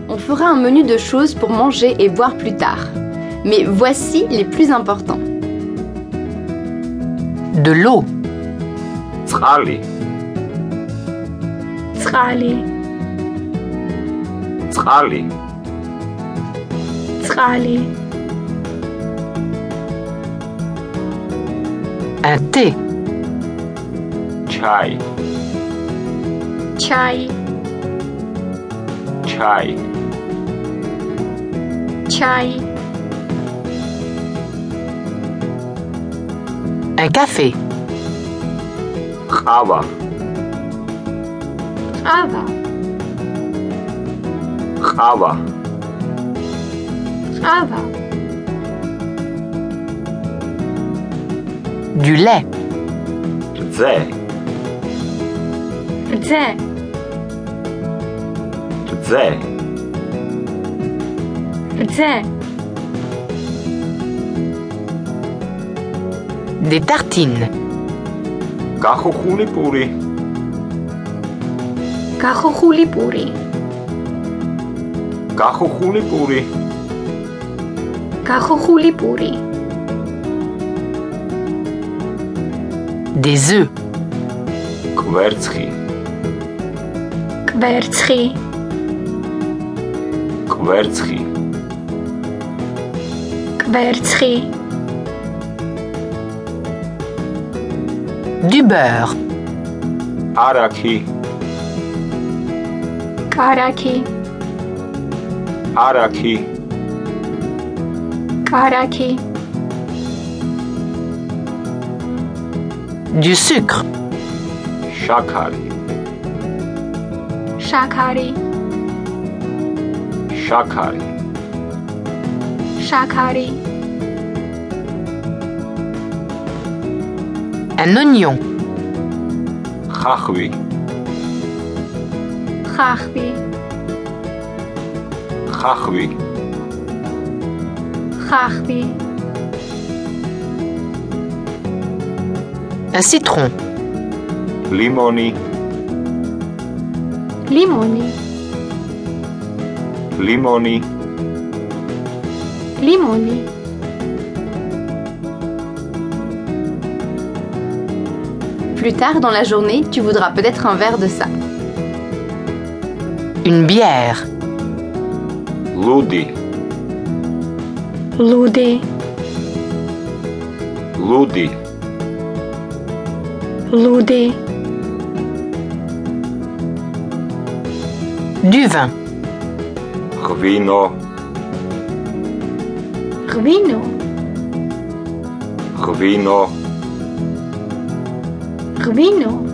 on fera un menu de choses pour manger et boire plus tard. Mais voici les plus importants. De l'eau, წყალი, წყალი, წყალი, წყალი, un thé, ჩაი, ჩაი, ჩაი, ჩაი, un café, ყავა, ყავა, ყავა, ყავა, du lait, რძე, რძე, რძე, რძე, des tartines, გახუხული პური, გახუხული პური, გახუხული პური, გახუხული პური, des œufs, კვერცხი, კვერცხი, კვერცხი, კვერცხი, du beurre, არაქი, კარაქი, არაქი, კარაქი, du sucre, შაქარი, შაქარი, შაქარი, შაქარი, un oignon, ხახვი, ხახვი, ხახვი, ხახვი, un citron, ლიმონი, ლიმონი, ლიმონი, ლიმონი, Plus tard dans la journée, tu voudras peut-être un verre de ça. une bière, ლუდი, ლუდი, ლუდი, ლუდი, du vin, ღვინო, ღვინო, ღვინო, ღვინო,